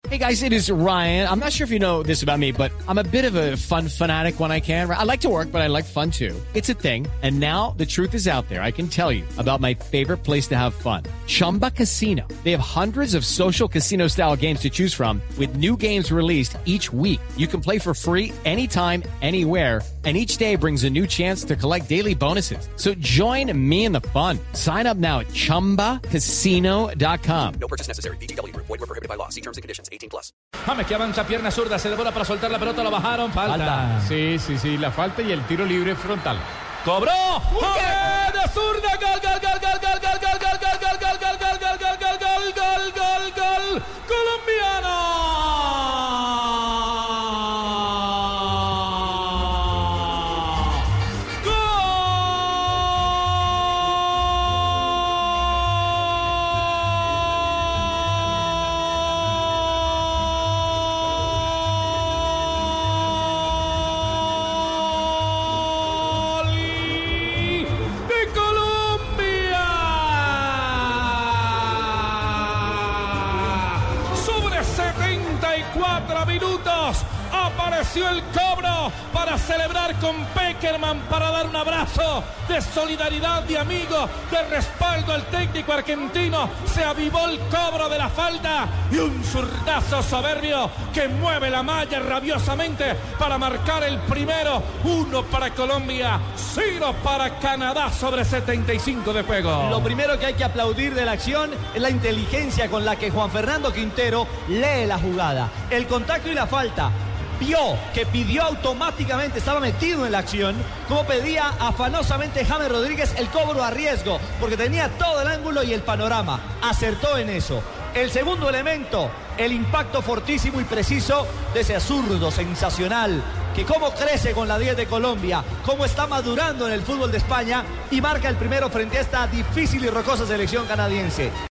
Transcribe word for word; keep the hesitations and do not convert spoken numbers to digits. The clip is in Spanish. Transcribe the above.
Hey guys, it is Ryan. I'm not sure if you know this about me, but I'm a bit of a fun fanatic when I can. I like to work, but I like fun too. It's a thing. And now the truth is out there. I can tell you about my favorite place to have fun. Chumba Casino. They have hundreds of social casino style games to choose from with new games released each week. You can play for free anytime, anywhere. And each day brings a new chance to collect daily bonuses. So join me in the fun. Sign up now at chumba casino dot com. No purchase necessary. V G W. Void where prohibited by law. See terms and conditions. eighteen plus. James que avanza, pierna zurda, se devora para soltar la pelota, lo bajaron, falta. falta. Sí, sí, sí, la falta y el tiro libre frontal. ¡Cobró! ¡James de zurda! ¡Gol, gol, gol, gol, gol, gol, gol, gol, gol, gol, gol, gol, gol, gol, gol, gol, gol, gol, gol, colombiano! setenta y cuatro minutos apareció el cobro para celebrar con Pekerman, para dar un abrazo de solidaridad, de amigo, de respaldo al técnico argentino. Se avivó el cobro de la falta y un zurdazo soberbio que mueve la malla rabiosamente para marcar el primero. Uno para Colombia, cero para Canadá sobre setenta y cinco de juego. Lo primero que hay que aplaudir de la acción es la inteligencia con la que Juan Fernando Quintero lee la jugada. El contacto y la falta. Vio que pidió automáticamente, estaba metido en la acción, como pedía afanosamente James Rodríguez el cobro a riesgo, porque tenía todo el ángulo y el panorama. Acertó en eso. El segundo elemento, el impacto fortísimo y preciso de ese zurdo sensacional, que cómo crece con la diez de Colombia, cómo está madurando en el fútbol de España y marca el primero frente a esta difícil y rocosa selección canadiense.